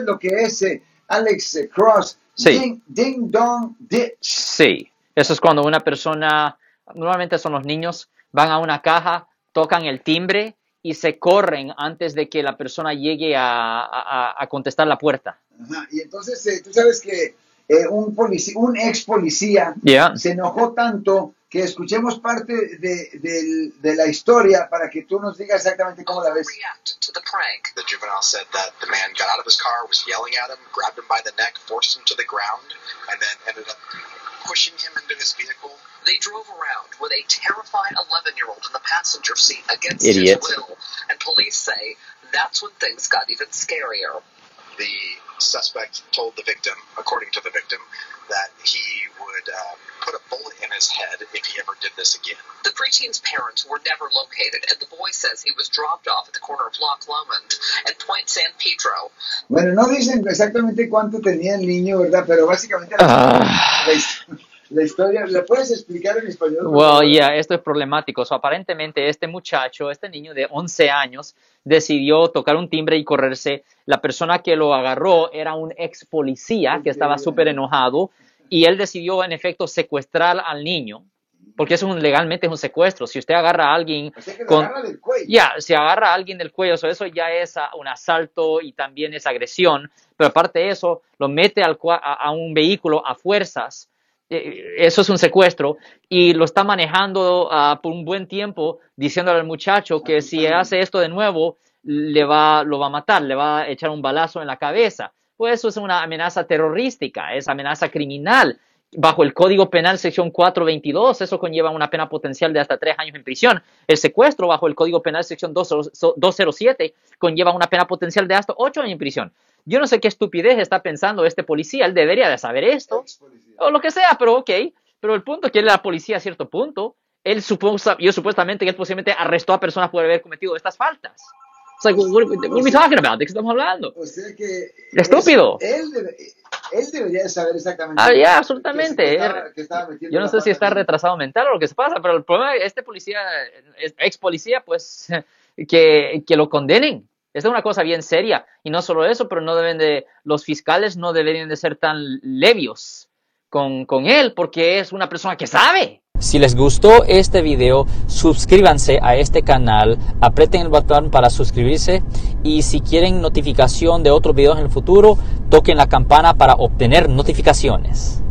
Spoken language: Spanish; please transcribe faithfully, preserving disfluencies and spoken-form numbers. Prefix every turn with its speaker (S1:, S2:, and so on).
S1: sabes lo que es, eh, Alex eh, Cross?
S2: Sí.
S1: Ding, ding dong ditch.
S2: Sí, eso es cuando una persona, normalmente son los niños, van a una caja, tocan el timbre y se corren antes de que la persona llegue a, a, a contestar la puerta.
S1: Ajá. Y entonces eh, tú sabes que eh, un, polici un ex policía
S2: Yeah.
S1: se enojó tanto que escuchemos parte de, de, de la historia para que tú nos digas exactamente cómo la ves.
S3: To the prank. The juvenile said that the man got out of his car, was yelling at him, grabbed him by the neck, forced him to the ground, and then ended up pushing him into his vehicle. They drove around with a terrified eleven-year-old in the passenger seat against
S2: Idiot.
S3: his will, and police say that's when things got even scarier. The suspect told the victim, according to the victim, that he would uh, put a bullet in his head if he ever did this again. The preteen's parents were never located, and the boy says he was dropped off at the corner of Loch Lomond and Point San Pedro.
S1: Bueno, no dicen exactamente cuánto tenía el niño, ¿verdad? Pero básicamente
S2: Ah.
S1: la, la historia, ¿la puedes explicar en español?
S2: Well, yeah, esto es problemático. So, aparentemente este muchacho, este niño de once años, decidió tocar un timbre y correrse. La persona que lo agarró era un ex policía que estaba súper enojado y él decidió, en efecto, secuestrar al niño, porque eso es un, legalmente es un secuestro. Si usted agarra a alguien
S1: O sea que lo
S2: con...
S1: agarra del cuello.
S2: Ya, si agarra a alguien del cuello, so eso ya es uh, un asalto y también es agresión, pero aparte de eso, lo mete al cua a, a un vehículo a fuerzas. Eso es un secuestro y lo está manejando uh, por un buen tiempo diciéndole al muchacho que si hace esto de nuevo le va, lo va a matar, le va a echar un balazo en la cabeza. Pues eso es una amenaza terrorística, es amenaza criminal. Bajo el Código Penal sección cuatrocientos veintidós, eso conlleva una pena potencial de hasta tres años en prisión. El secuestro bajo el Código Penal sección doscientos siete conlleva una pena potencial de hasta ocho años en prisión. Yo no sé qué estupidez está pensando este policía, él debería de saber esto, o lo que sea, pero ok. Pero el punto es que él era policía a cierto punto, él supuesta, yo supuestamente que él posiblemente arrestó a personas por haber cometido estas faltas. It's like, what, what, what are we talking about? ¿De qué estamos hablando?
S1: O sea que...
S2: Estúpido.
S1: Es, él, debe, él debería de saber exactamente...
S2: Ah, ya, absolutamente.
S1: Que, que estaba, que estaba
S2: yo no sé si está retrasado mental o lo que se pasa, pero el problema es este policía, ex policía, pues, que, que lo condenen. Esta es una cosa bien seria. Y no solo eso, pero no deben de, los fiscales no deberían de ser tan levios con, con él, porque es una persona que sabe. Si les gustó este video, suscríbanse a este canal, aprieten el botón para suscribirse y si quieren notificación de otros videos en el futuro, toquen la campana para obtener notificaciones.